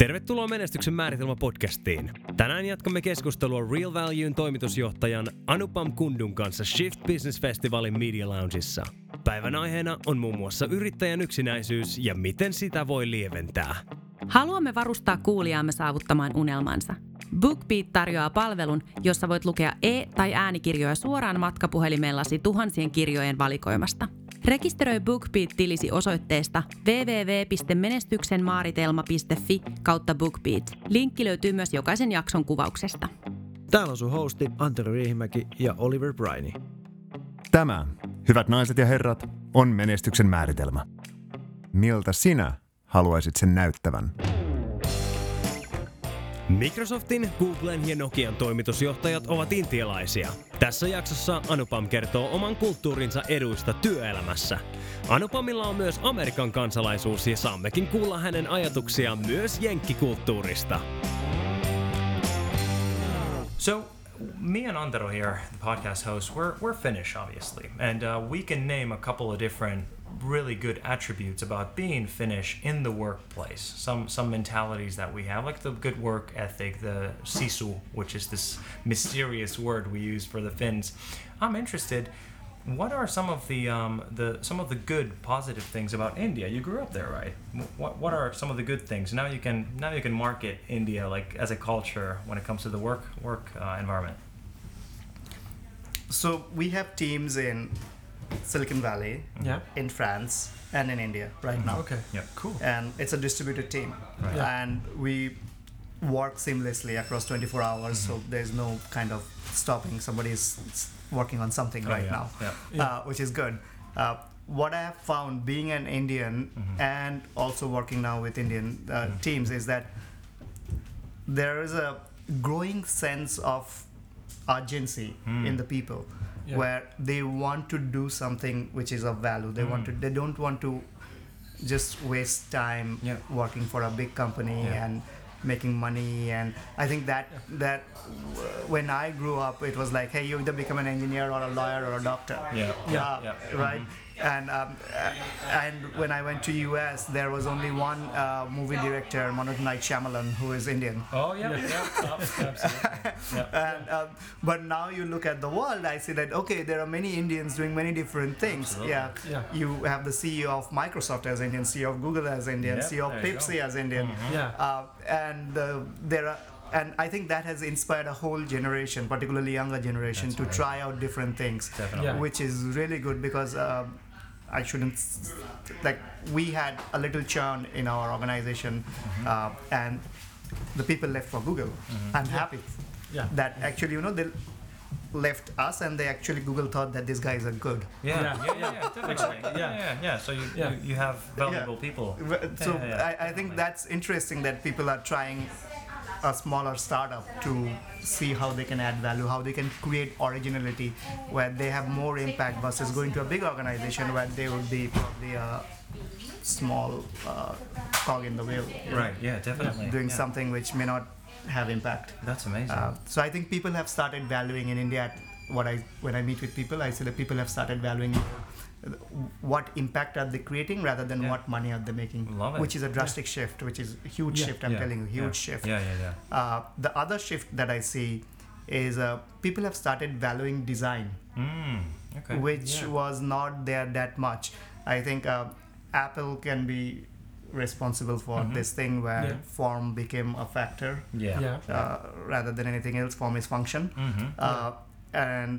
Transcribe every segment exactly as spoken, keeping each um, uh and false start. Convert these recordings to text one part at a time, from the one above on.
Tervetuloa Menestyksen määritelmä podcastiin. Tänään jatkamme keskustelua Real Valuen toimitusjohtajan Anupam Kundun kanssa Shift Business Festivalin Media Loungeissa. Päivän aiheena on muun muassa yrittäjän yksinäisyys ja miten sitä voi lieventää. Haluamme varustaa kuulijaamme saavuttamaan unelmansa. BookBeat tarjoaa palvelun, jossa voit lukea e- tai äänikirjoja suoraan matkapuhelimellasi tuhansien kirjojen valikoimasta. Rekisteröi BookBeat-tilisi osoitteesta double-u double-u double-u piste menestyksenmaaritelma.fi kautta BookBeat. Linkki löytyy myös jokaisen jakson kuvauksesta. Täällä on sun hosti Antero Riihimäki ja Oliver Briney. Tämä, hyvät naiset ja herrat, on menestyksen määritelmä. Miltä sinä haluaisit sen näyttävän? Microsoftin, Googlen ja Nokian toimitusjohtajat ovat intialaisia. Tässä jaksossa Anupam kertoo oman kulttuurinsa eduista työelämässä. Anupamilla on myös Amerikan kansalaisuus ja saammekin kuulla hänen ajatuksiaan myös jenkkikulttuurista. So, me and Antero here, the podcast host, we're, we're Finnish, obviously. And uh, we can name a couple of different really good attributes about being Finnish in the workplace. Some some mentalities that we have, like the good work ethic, the sisu, which is this mysterious word we use for the Finns. I'm interested, what are some of the um, the some of the good positive things about India? You grew up there, right? What what are some of the good things? Now you can now you can market India like as a culture when it comes to the work work uh, environment. So we have teams in Silicon Valley, Yeah. in France, and in India right now. Okay. Yeah. Cool. And it's a distributed team. Right. Yeah. And we work seamlessly across twenty-four hours, Mm-hmm. so there's no kind of stopping. Somebody is working on something Oh, right yeah. now, Yeah. Uh, which is good. Uh, what I have found being an Indian Mm-hmm. and also working now with Indian uh, Mm-hmm. teams is that there is a growing sense of urgency Mm. in the people. Yeah. Where they want to do something which is of value. They want to. Mm. They don't want to just waste time Yeah. working for a big company Yeah. and making money. And I think that that w- when I grew up, it was like, hey, you either become an engineer or a lawyer or a doctor. Yeah. Yeah. Yeah. Right. And um, uh, and when I went to U S, there was only one uh, movie director, Manoj Night Shyamalan, who is Indian. Oh yeah. Yeah. yeah. Absolutely. Yeah. And um, but now you look at the world, I see that okay, there are many Indians doing many different things. Absolutely. Yeah. Yeah. You have the C E O of Microsoft as Indian, C E O of Google as Indian, Yep, C E O of there you Pepsi go. as Indian. Yeah. Uh, and uh, there are. And I think that has inspired a whole generation, particularly younger generation, That's to right. try out different things, Definitely. Yeah. which is really good because um, I shouldn't s- like we had a little churn in our organization, Mm-hmm. uh, and the people left for Google. I'm happy Yeah. that actually you know they left us and they actually Google thought that these guys are good. Yeah. Yeah. Yeah. Yeah. Yeah. Definitely. Yeah. Yeah. Yeah. So you Yeah. you, you have valuable people. So Yeah, yeah, I, I think definitely. that's interesting that people are trying a smaller startup to see how they can add value, how they can create originality, where they have more impact versus going to a big organization where they would be probably a small uh, cog in the wheel, you know, Right. Yeah. Definitely. doing Yeah. something which may not have impact. That's amazing. Uh, so I think people have started valuing in India. What I when I meet with people, I see that people have started valuing what impact are they creating rather than Yeah. what money are they making, Love it. which is a drastic shift, which is a huge Yeah. shift. I'm Yeah. telling you, huge yeah. shift. Yeah. Yeah. Yeah. Uh, the other shift that I see is uh, people have started valuing design, Mm. Okay. which Yeah. was not there that much. I think uh, Apple can be responsible for Mhm. this thing where Yeah. form became a factor Yeah. Yeah. uh, rather than anything else. Form is function. Mm-hmm. Uh, and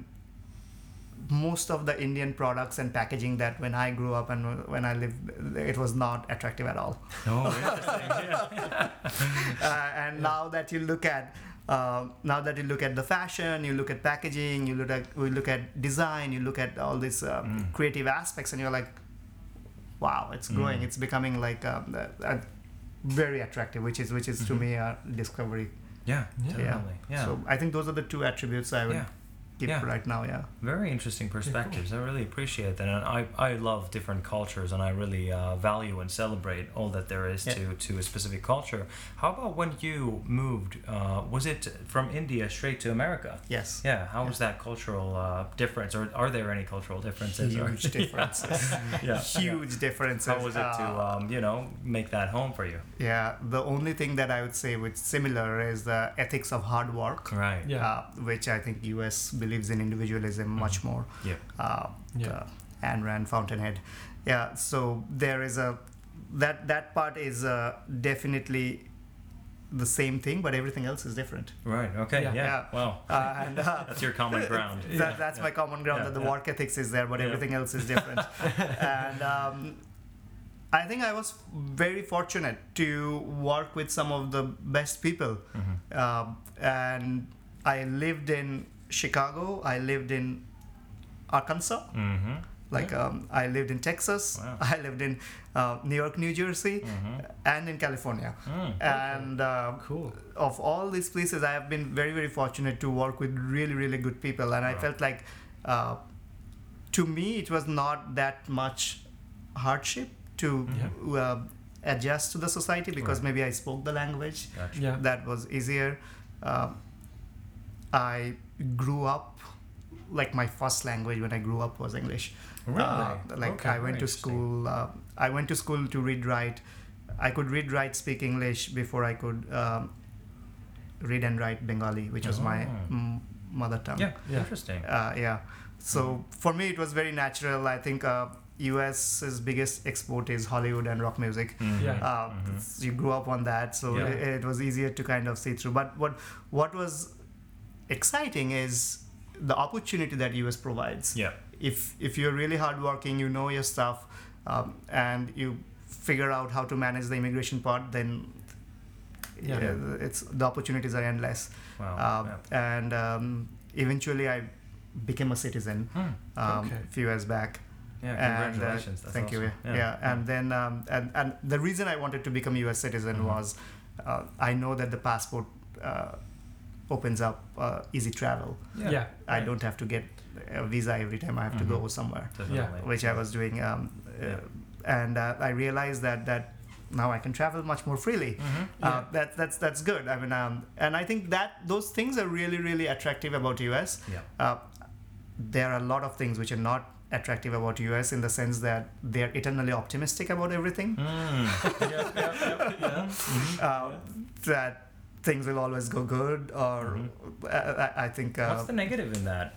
most of the Indian products and packaging that when I grew up and when I lived, it was not attractive at all. Oh, interesting. Yeah. Uh, and now that you look at uh, now that you look at the fashion, you look at packaging, you look at you look at design, you look at all these uh, Mm. creative aspects, and you're like, wow, it's growing. Mm. It's becoming like um, a, a very attractive, which is which is to Mhm. me a discovery. Yeah. Yeah. Definitely. Yeah. So I think those are the two attributes I would yeah. keep Yeah. right now. Yeah. Very interesting perspectives. I really appreciate that, and I, I love different cultures, and I really uh, value and celebrate all that there is Yeah. to, to a specific culture. How about when you moved? Uh, was it from India straight to America? Yes. Yeah. How was that cultural uh, difference, or are there any cultural differences? or- Huge differences. Yeah. Huge differences. How was it to Uh, um, you know make that home for you? Yeah, the only thing that I would say which similar is the ethics of hard work, Right. Yeah. uh, which I think U S believes in individualism much more. Yeah. Uh, Yeah. uh, Ayn Rand, Fountainhead. Yeah, so there is a that that part is uh, definitely the same thing, but everything else is different. Right. Okay. Yeah. Yeah. Yeah. Wow. Uh, and uh, That's your common ground. that, that's my common ground, Yeah, that the yeah. work ethics is there, but Yeah. everything else is different. And um, I think I was very fortunate to work with some of the best people. Mhm. Um, and I lived in Chicago, I lived in Arkansas, Mm-hmm. like um, I lived in Texas, Wow. I lived in uh, New York, New Jersey, Mm-hmm. and in California. Mm. And uh, Cool. of all these places, I have been very, very fortunate to work with really, really good people. And I Wow. felt like, uh, to me, it was not that much hardship to uh, adjust to the society because Right. maybe I spoke the language. Gotcha. Yeah. That was easier. Um, I grew up, like my first language when I grew up was English. Really? Uh, like Okay, I very went to interesting. school. Uh, I went to school to read, write. I could read, write, speak English before I could um, read and write Bengali, which was my Oh. mm, mother tongue. Yeah. Yeah. Interesting. Uh, yeah. So for me, it was very natural. I think uh, US's biggest export is Hollywood and rock music. Mhm. Yeah. Uh, Mhm. You grew up on that, so Yeah. it, it was easier to kind of see through. But what what was exciting is the opportunity that U S provides. Yeah. If if you're really hardworking, you know your stuff, um, and you figure out how to manage the immigration part, then Yeah. yeah, it's the opportunities are endless. Wow. Um, yeah. And um, eventually, I became a citizen Hmm. um, Okay. a few years back. Yeah. And, uh, Congratulations. That's thank you. awesome. Yeah, and then um, and and the reason I wanted to become a U S citizen Mhm. was uh, I know that the passport uh, opens up uh, easy travel. Yeah. Yeah. I Right. don't have to get a visa every time I have to Mhm. go somewhere, Definitely. which I was doing. Um, Yeah. uh, and uh, I realized that that now I can travel much more freely. Mhm. Uh, Yeah. that, that's that's good. I mean, um, and I think that those things are really really attractive about U S. Yeah. Uh, there are a lot of things which are not attractive about U S in the sense that they're eternally optimistic about everything. Mm. Yeah. Yeah. Yeah. Yeah. Uh, that things will always go good, or Mhm. uh, I, I think uh, What's the negative in that?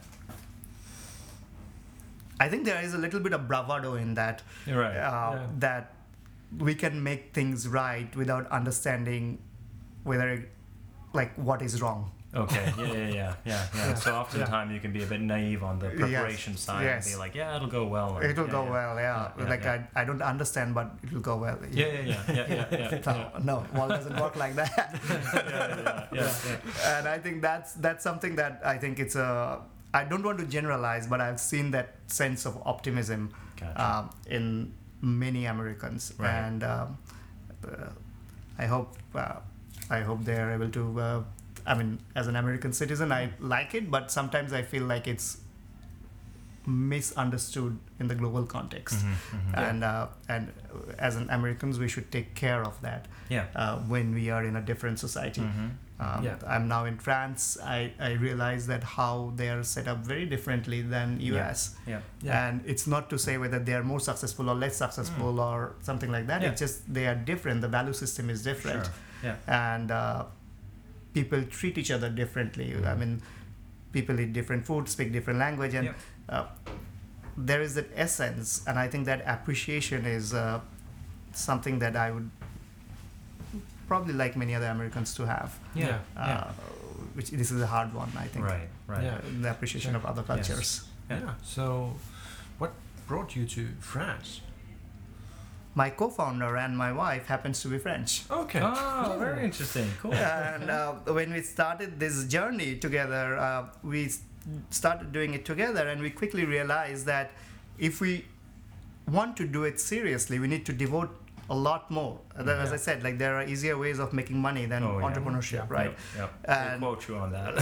I think there is a little bit of bravado in that. You're right. Uh, Yeah. That we can make things right without understanding whether, like, what is wrong. Okay. Yeah. Yeah. Yeah. Yeah. Yeah. Yeah. So oftentimes you can be a bit naive on the preparation side Yes. and be like, yeah, it'll go well. or- It'll yeah, go yeah. well, yeah. Yeah, yeah, like yeah. I, I don't understand, but it'll go well. Yeah. Yeah. Yeah. Yeah. Yeah. Yeah. yeah. No, no, well, doesn't work like that. yeah, yeah, yeah, yeah. And I think that's that's something that I think it's a. I don't want to generalize, but I've seen that sense of optimism Gotcha. um, in many Americans, Right. and um, uh, I hope uh, I hope they are able to. Uh, I mean, as an American citizen, I like it, but sometimes I feel like it's misunderstood in the global context. Mhm, mhm. And uh, and as an Americans, we should take care of that Yeah. uh, when we are in a different society. Mhm. Um, Yeah. I'm now in France. I, I realize that how they are set up very differently than U S. Yeah. Yeah. And it's not to say whether they are more successful or less successful or something like that. Mm. Yeah. It's just they are different. The value system is different. Sure. Yeah. And uh, people treat each other differently. I Mhm. mean, people eat different food, speak different language, and Yep. uh, there is that essence. And I think that appreciation is uh, something that I would probably like many other Americans to have. Yeah. Uh, Yeah. Which this is a hard one, I think. Right. Right. Yeah. The appreciation of other Yes. cultures. Yeah. Yeah. So, what brought you to France? My co-founder and my wife happens to be French. Okay. Oh, Cool. very interesting. Cool. And uh, when we started this journey together, uh, we s- started doing it together, and we quickly realized that if we want to do it seriously, we need to devote a lot more. Uh, that- As I said, like there are easier ways of making money than Oh, yeah. entrepreneurship, Yeah. right? Yep. yep. And- We'll quote you on that.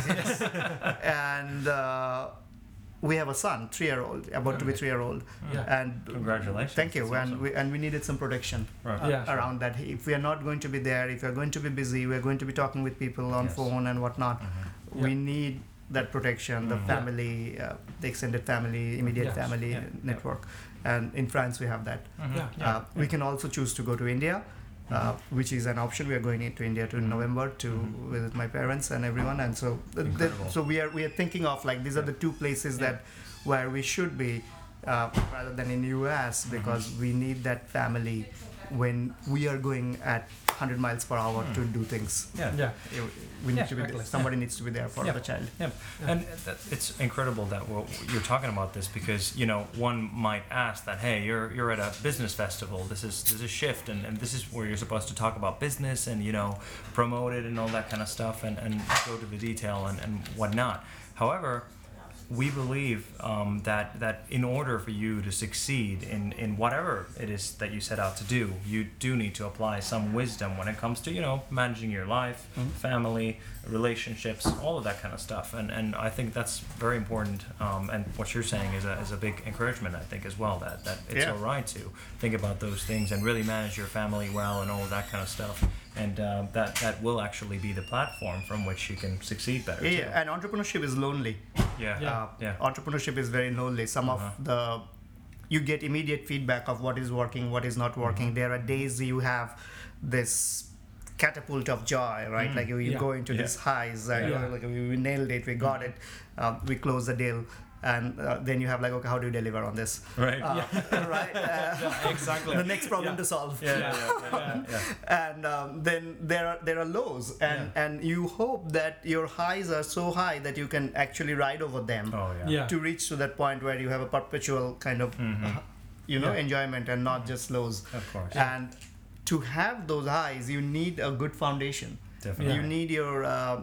And uh, we have a son, three-year-old, about to be three-year-old, Yeah. and Congratulations. thank you. That's And awesome. we and we needed some protection Right. uh, Yeah. around that. If we are not going to be there, if we are going to be busy, we are going to be talking with people on Yes. phone and whatnot. Mhm. We Yeah. need that protection, the Mhm. family, uh, the extended family, immediate Yes. family Yeah. network, and in France we have that. Mhm. Yeah. Uh, we can also choose to go to India, uh, which is an option. We are going into India to in November to Mhm. visit my parents and everyone, and so th- th- Incredible. so we are we are thinking of like these are Yeah. the two places Yeah. that where we should be uh, rather than in U S Mm-hmm. because we need that family when we are going at one hundred miles per hour to do things. Yeah. Yeah. You- We need Yeah, to be exactly. somebody needs to be there for Yeah. the child. Yeah, and that, it's incredible that well, you're talking about this because you know one might ask that hey you're you're at a business festival, this is this is Shift and, and this is where you're supposed to talk about business and you know promote it and all that kind of stuff and, and go to the detail and, and whatnot. However, we believe um, that that in order for you to succeed in, in whatever it is that you set out to do, you do need to apply some wisdom when it comes to you know managing your life, family, relationships, all of that kind of stuff. And and I think that's very important. Um, and what you're saying is a is a big encouragement, I think, as well. That that it's Yeah. all right to think about those things and really manage your family well and all of that kind of stuff. And uh, that that will actually be the platform from which you can succeed better. Yeah, too. and entrepreneurship is lonely. Yeah. Yeah. Uh, Yeah. Entrepreneurship is very lonely. Some Uh-huh. of the you get immediate feedback of what is working, what is not working. Mm-hmm. There are days you have this catapult of joy, right? Like you, you Yeah. go into Mm. Yeah. these highs, and Yeah. you're like we, we nailed it, we got it, um, we closed the deal, and uh, then you have like okay, how do you deliver on this? Right. Uh, right? Uh, Exactly. the next problem Yeah. to solve. Yeah, yeah, yeah, yeah, yeah. And um, then there are there are lows, and Yeah. and you hope that your highs are so high that you can actually ride over them Oh yeah. Yeah. to reach to that point where you have a perpetual kind of Mhm. uh, you know Yeah. enjoyment and not just lows. Of course. And to have those highs, you need a good foundation. Definitely. You need your uh,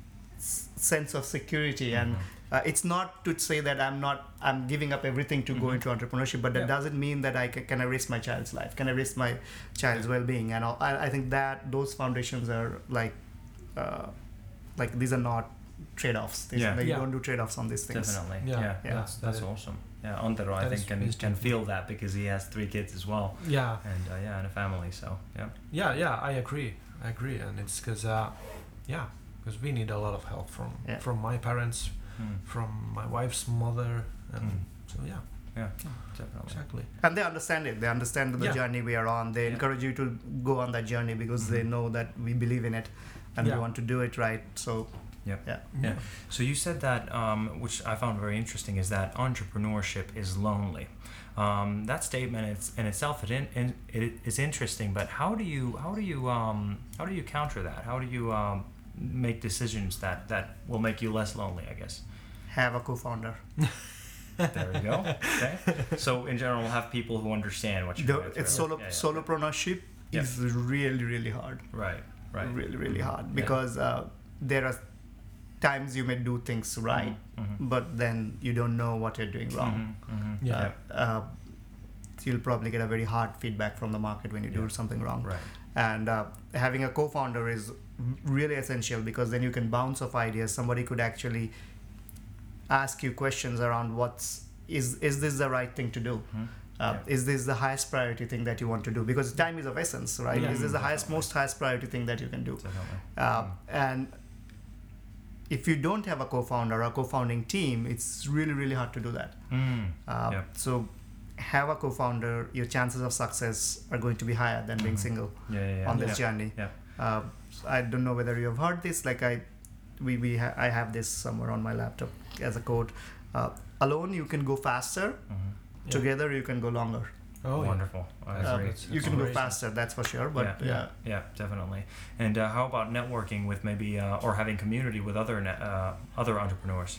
s- sense of security, and Mm-hmm. uh, it's not to say that I'm not I'm giving up everything to go into entrepreneurship, but that Yeah. doesn't mean that I can, can I risk my child's life? Can I risk my child's well-being? And all, I, I think that those foundations are like uh, like these are not trade-offs. These, Yeah. like, Yeah. You don't do trade-offs on these things. Definitely. Yeah. Yeah. Yeah. That's that's That is- awesome. Yeah. Antero, I that think is can wisdom. can feel that because he has three kids as well, Yeah. and uh, yeah, and a family. So yeah. Yeah, yeah, I agree. I agree, and it's because, uh, yeah, because we need a lot of help from Yeah. from my parents, Mm. from my wife's mother, and Mm. so yeah, Yeah. Definitely. exactly. And they understand it. They understand the Yeah. journey we are on. They Yeah. encourage you to go on that journey because they know that we believe in it and Yeah. we want to do it right. So Yep. yeah. Yeah. So you said that, um, which I found very interesting, is that entrepreneurship is lonely. Um, that statement is, in itself it, in, in, it is interesting, but how do you how do you um, how do you counter that? How do you um, make decisions that, that will make you less lonely? I guess. Have a co-founder. There we go. Okay. So in general, have people who understand what you're The, going through. it's solo Yeah, yeah. solopreneurship Yeah. is really really hard. Right. Right. Really really hard Yeah. because uh, there are times you may do things right, Mhm. but then you don't know what you're doing wrong. Mhm. Mhm. Yeah. Uh, uh, so you'll probably get a very hard feedback from the market when you do Yeah. something wrong. Right. And uh, having a co-founder is really essential because then you can bounce off ideas. Somebody could actually ask you questions around what's is is this the right thing to do? Mhm. Uh, Yeah. Is this the highest priority thing that you want to do? Because time is of essence, right? Yeah. Is this the highest, Definitely. most highest priority thing that you can do? Definitely. Uh, Mm. and if you don't have a co-founder or a co-founding team, it's really really hard to do that. Mm. Uh, Yeah. So have a co-founder, your chances of success are going to be higher than being Mhm. single Yeah. Yeah. yeah. on this yeah. journey. Yeah. Uh, so I don't know whether you have heard this. Like I, we we ha- I have this somewhere on my laptop as a quote. Uh, alone you can go faster. Mhm. Yeah. Together you can go longer. Oh, yeah. Wonderful. I Uh, agree. Uh, that's- you can go amazing. faster, that's for sure. But Yeah. yeah, Yeah, definitely. And uh, how about networking with maybe uh, or having community with other ne- uh, other entrepreneurs?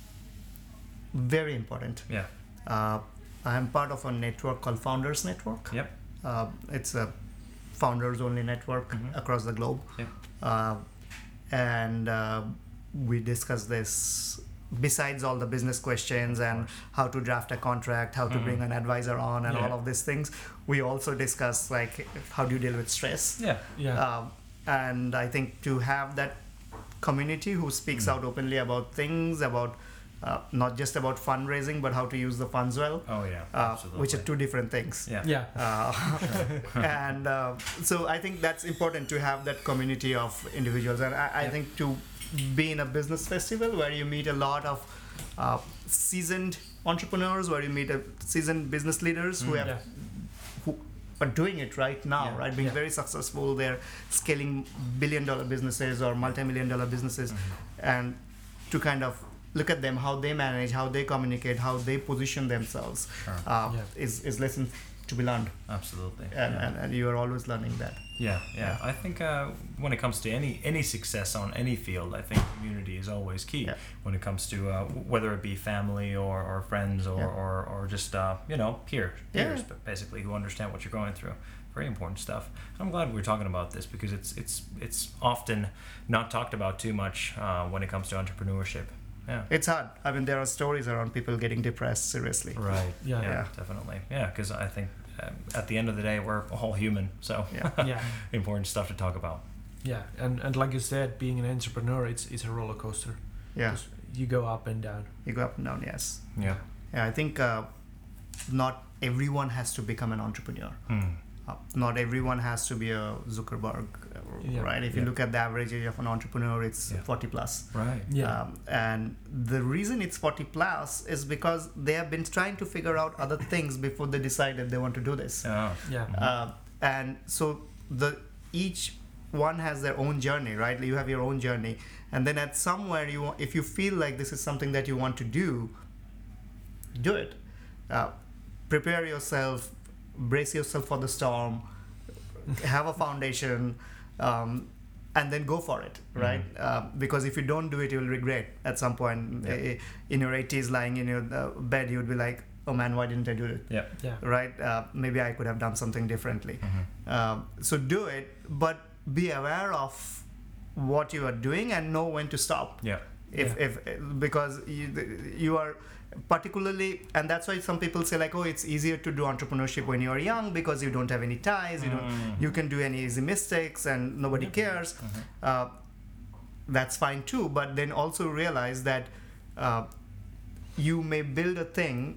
very important. Yeah. Uh, I am part of a network called Founders Network. Yep. Uh, it's a founders only network Mhm. across the globe. Yep. Uh, and uh, we discuss this besides all the business questions and how to draft a contract, how to Mhm. bring an advisor on, and Yeah. all of these things, we also discuss like how do you deal with stress. Yeah. Yeah. Um, and I think to have that community who speaks Mm. out openly about things, about uh, not just about fundraising, but how to use the funds well, Oh yeah. uh, Absolutely. which are two different things. Yeah. Yeah. Uh, and uh, so I think that's important to have that community of individuals. And I, I Yeah. think to be in a business festival where you meet a lot of uh, seasoned entrepreneurs, where you meet a seasoned business leaders who Mm. have Yeah. who are doing it right now, Yeah. right? Being Yeah. very successful. They're scaling billion dollar businesses or multi-million dollar businesses. Mhm. And to kind of look at them, how they manage, how they communicate, how they position themselves, Sure. uh, Yeah. is, is lessons to be learned. Absolutely. And, yeah. and, and you are always learning that. Yeah, yeah. I think uh, when it comes to any any success on any field, I think community is always key. Yeah. When it comes to uh, w- whether it be family or, or friends or, Yeah. or, or just uh, you know peers, Yeah. peers, but basically who understand what you're going through. Very important stuff. I'm glad we're talking about this because it's it's it's often not talked about too much uh, when it comes to entrepreneurship. Yeah. It's hard. I mean, there are stories around people getting depressed, seriously. Right. Yeah. Yeah. Yeah. Definitely. Yeah. Because I think um, at the end of the day, we're all human. So Yeah. Yeah. important stuff to talk about. Yeah. And and like you said, being an entrepreneur, it's it's a roller coaster. Yeah. 'Cause you go up and down. You go up and down, yes. Yeah. Yeah, I think uh, not everyone has to become an entrepreneur. Hmm. Uh, not everyone has to be a Zuckerberg, uh, Yeah. right? If you Yeah. look at the average age of an entrepreneur, it's Yeah. forty plus. Right. Yeah. Um, and the reason it's forty plus is because they have been trying to figure out other things before they decided they want to do this. Oh. Yeah. Uh, and so the each one has their own journey, right? You have your own journey, and then at somewhere you want, if you feel like this is something that you want to do, do it. Uh, prepare yourself, brace yourself for the storm, have a foundation, um, and then go for it, right? Uh, because if you don't do it, you'll regret at some point. Yeah. Eh, in your eighties, lying in your uh, bed, you would be like, "Oh man, why didn't I do it?" Yeah. Yeah. Right? Uh, maybe I could have done something differently. Mhm. Um, so do it, but be aware of what you are doing and know when to stop. Yeah. If, Yeah. if because you, you are particularly, and that's why some people say like, oh, it's easier to do entrepreneurship when you are young because you don't have any ties, you don't, Mm. you can do any easy mistakes and nobody cares. Mhm. Uh, that's fine too, but then also realize that uh, you may build a thing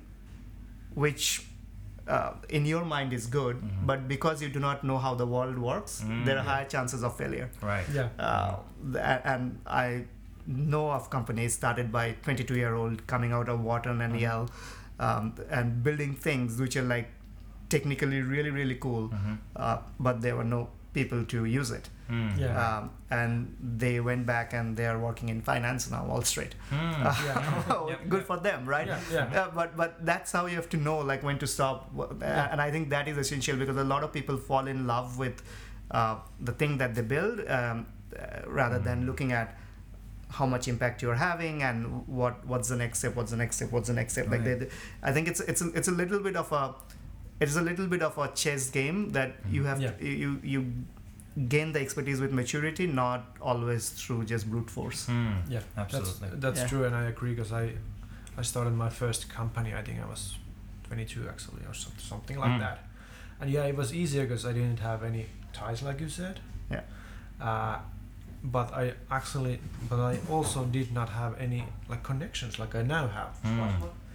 which uh, in your mind is good, Mhm. but because you do not know how the world works, Mm. there are higher chances of failure. Right. Yeah. Uh, th- and I know of companies started by twenty-two year old coming out of Wharton and Mhm. Yale um, and building things which are like technically really really cool, Mhm. uh, but there were no people to use it. Mm. Yeah. Um, and they went back and they are working in finance now, Wall Street. Mm. Yeah. Yep, Good yep. for them, right? Yeah. Yeah. Uh, but but that's how you have to know like when to stop, uh, Yeah. and I think that is essential because a lot of people fall in love with uh, the thing that they build um, uh, rather than Mm. looking at how much impact you're having and what what's the next step, what's the next step, what's the next step. Like they, Right. they- I think it's it's a, it's a little bit of a it's a little bit of a chess game that you have Yeah. to, you you gain the expertise with maturity, not always through just brute force. Mm. Yeah. Absolutely. That's, that's Yeah. true, and I agree because I, I started my first company. I think I was twenty-two actually, or some, something like Mm. that. And yeah, it was easier because I didn't have any ties, like you said. Yeah. Uh, but I actually, but I also did not have any like connections like I now have. Mm.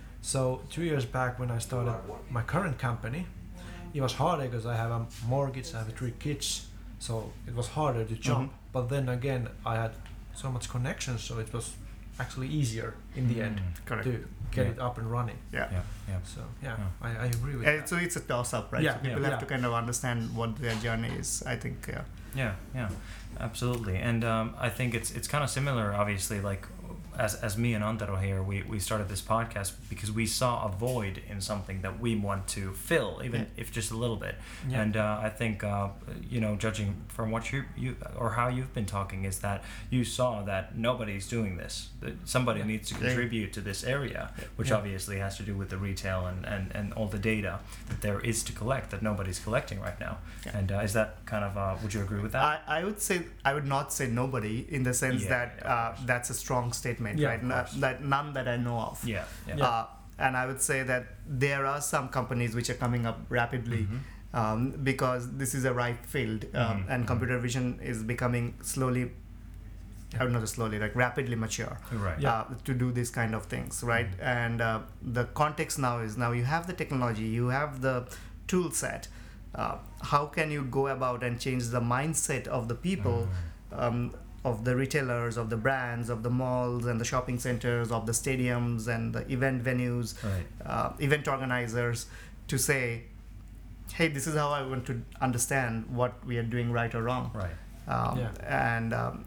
So two years back when I started my current company, it was harder because I have a mortgage, I have three kids, so it was harder to jump. But then again, I had so much connections, so it was actually easier in the end Mm. Correct. to get Yeah. it up and running. Yeah. Yeah. Yeah. So yeah, Yeah. I, I agree with And that. so it's a toss up, right? Yeah, so people yeah. have to kind of understand what their journey is. I think. Yeah. Yeah, yeah, absolutely. And um, I think it's it's kind of similar, obviously, like as as me and Antero here, we, we started this podcast because we saw a void in something that we want to fill, even Yeah. if just a little bit. Yeah. And uh, I think, uh, you know, judging from what you you or how you've been talking, is that you saw that nobody's doing this. That somebody Yeah. needs to Yeah. contribute to this area, which Yeah. obviously has to do with the retail and, and, and all the data that there is to collect that nobody's collecting right now. Yeah. And uh, is that kind of, uh, would you agree with that? I, I would say I would not say nobody in the sense Yeah, that yeah, of uh, course. that's a strong statement statement, Yeah, right? of No- course. that none that I know of. Yeah. Yeah. Yeah. Uh, and I would say that there are some companies which are coming up rapidly um, because this is a ripe field, um, Mhm. and computer vision is becoming slowly, I don't know, just slowly, like rapidly mature Right. Yeah. uh, to do these kind of things, right? And uh, the context now is now you have the technology, you have the tool set. Uh, how can you go about and change the mindset of the people, um, of the retailers, of the brands, of the malls and the shopping centers, of the stadiums and the event venues, Right. uh, event organizers, to say, hey, this is how I want to understand what we are doing right or wrong, Right. um, Yeah. and um,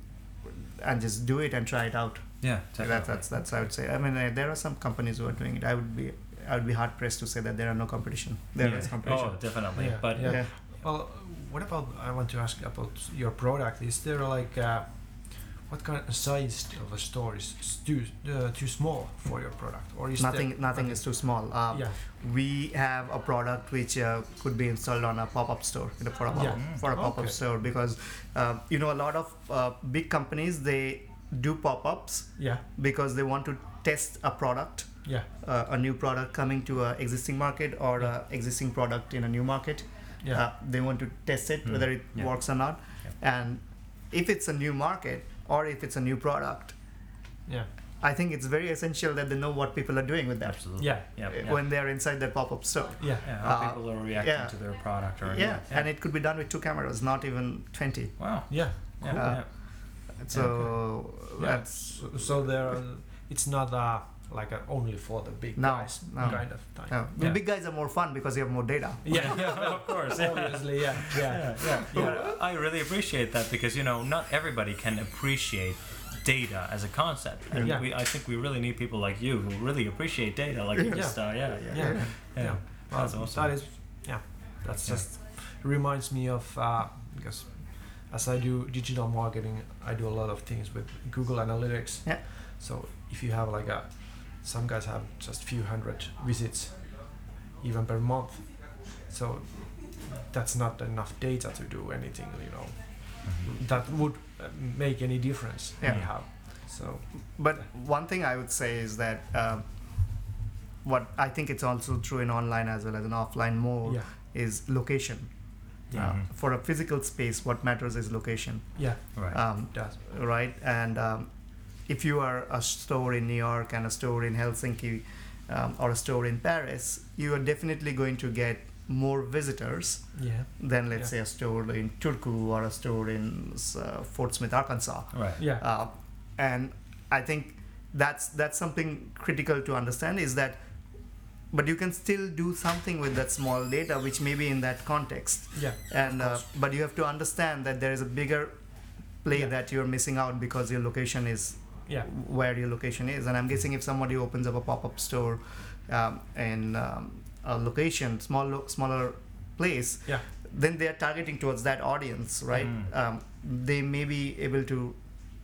and just do it and try it out. Yeah. That's Definitely. that's that's I would say. I mean, uh, there are some companies who are doing it. I would be I would be hard pressed to say that there are no competition. There yeah. is competition. Oh, definitely. Yeah. But Yeah. Yeah. Well, what about, I want to ask about your product. Is there like, uh, what kind of size of a store is s- too, uh, too small for your product? Or is Nothing there, nothing is too small. Uh, Yeah. We have a product which uh, could be installed on a pop-up store, you know, for a pop- Yeah. for a pop-up Okay. store, because uh, you know a lot of uh, big companies, they do pop-ups Yeah. because they want to test a product, Yeah. uh, a new product coming to an existing market or Yeah. a existing product in a new market. Yeah. Uh, they want to test it Mm. whether it Yeah. works or not, and if it's a new market or if it's a new product, Yeah. I think it's very essential that they know what people are doing with that absolutely. Yeah. Yeah. uh, yeah. when they're inside that pop-up store. Yeah. yeah. How uh, people are reacting yeah. to their product or Yeah, and it could be done with two cameras, not even twenty. Wow. Yeah. Yeah. Cool. yeah. So Yeah. that's So, so there, are, it's not uh, like a only for the big No, guys no. kind of thing. no. The Yeah. big guys are more fun because you have more data. Yeah. Yeah, of course. Yeah. Obviously, yeah. Yeah. Yeah, yeah, yeah. I really appreciate that because you know not everybody can appreciate data as a concept, and Yeah. we, I think we really need people like you who really appreciate data, like you Yeah. just, uh, yeah, yeah, Yeah. yeah. Yeah. Well, That's awesome. That is, yeah. That's Yeah. just reminds me of uh, because as I do digital marketing, I do a lot of things with Google Analytics. Yeah. So if you have like a, some guys have just few hundred visits, even per month. So that's not enough data to do anything, you know, that would uh, make any difference Yeah. anyhow. So But one thing I would say is that um, what I think it's also true in online as well as in offline more yeah, is location. yeah, Uh, Mhm. for a physical space, what matters is location, yeah, Right. um, that's right? And um, if you are a store in New York and a store in Helsinki um, or a store in Paris, you are definitely going to get more visitors yeah, than, let's Yeah. say, a store in Turku or a store in uh, Fort Smith, Arkansas. Right. yeah, Uh, and I think that's that's something critical to understand is that, but you can still do something with that small data, which may be in that context. yeah, And uh, course. but you have to understand that there is a bigger play Yeah. that you're missing out because your location is yeah, where your location is. And I'm guessing if somebody opens up a pop-up store um, in um, a location, small, lo- smaller place, yeah, then they are targeting towards that audience, right? Mm. Um, they may be able to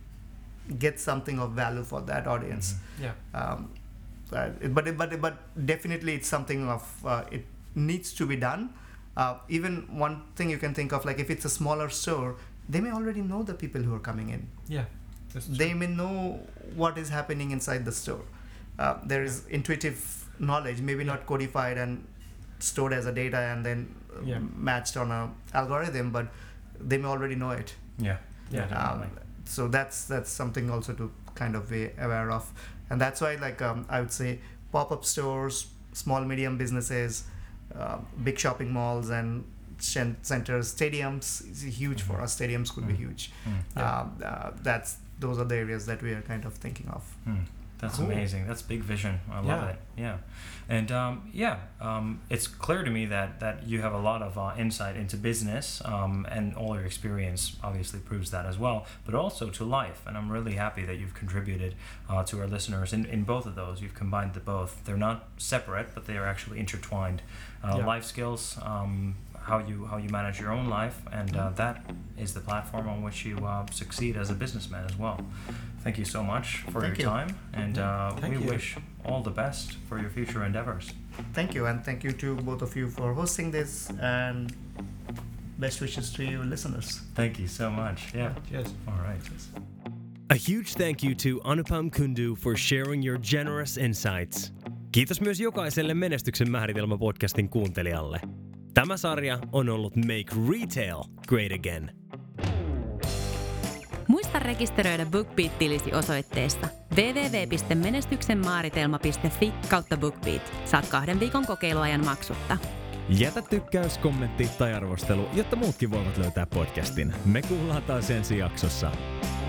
get something of value for that audience. yeah, Um, uh, but but but definitely it's something of uh, it needs to be done. Uh, even one thing you can think of, like if it's a smaller store, they may already know the people who are coming in. yeah. That's true. They may know what is happening inside the store. Uh, there is intuitive knowledge, maybe Yeah. not codified and stored as a data and then uh, Yeah. matched on a algorithm, but they may already know it. Yeah. Yeah. Um, definitely. so that's that's something also to kind of be aware of, and that's why like um, I would say pop-up stores, small medium businesses, uh, big shopping malls and cen- centers, stadiums is huge for Mhm. us. Stadiums could be Mm. huge. Mm. Yeah. Um, uh, that's those are the areas that we are kind of thinking of. Hmm. That's Cool. amazing. That's big vision. I love Yeah. it. Yeah, and um, yeah, um, it's clear to me that that you have a lot of uh, insight into business, um, and all your experience obviously proves that as well. But also to life, and I'm really happy that you've contributed uh, to our listeners in, in both of those. You've combined the both. They're not separate, but they are actually intertwined. Uh, Yeah. Life skills. Um, how you how you manage your own life, and uh, that is the platform on which you uh, succeed as a businessman as well. Thank you so much for Thank your you. time, and uh, Thank we you. wish all the best for your future endeavors. Thank you, and thank you to both of you for hosting this, and best wishes to you listeners. Thank you so much. Yeah. Cheers. All right. A huge thank you to Anupam Kundu for sharing your generous insights. Kiitos myös jokaiselle Menestyksen määritelmä podcastin kuuntelijalle. Tämä sarja on ollut Make Retail Great Again. Muista rekisteröidä BookBeat-tilisi osoitteessa double-u double-u double-u piste menestyksenmaaritelma piste fi kautta BookBeat. Saat kahden viikon kokeiluajan maksutta. Jätä tykkäys, kommentti tai arvostelu, jotta muutkin voivat löytää podcastin. Me kuullaan taas ensi jaksossa.